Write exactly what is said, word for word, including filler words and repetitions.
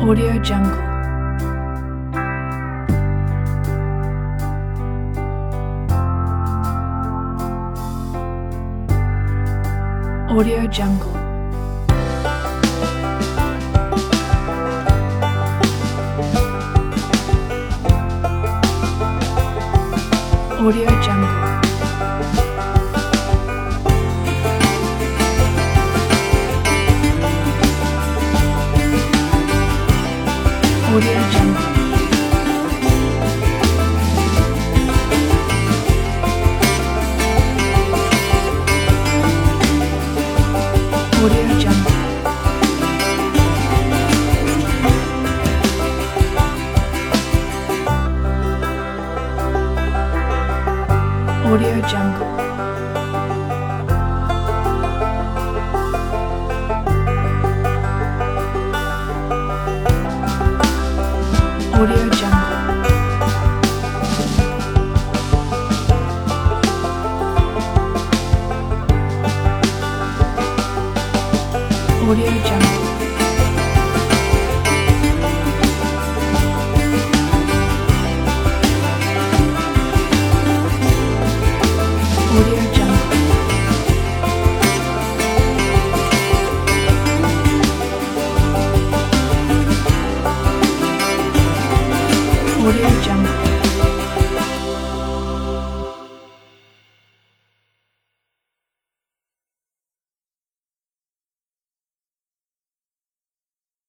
Audio Jungle. Audio Jungle. Audio Jungle. Audio Jungle. Audio Jungle. Audio Jungle. Audio Jungle. Audio Jungle. Audio Jungle. Audio Jungle.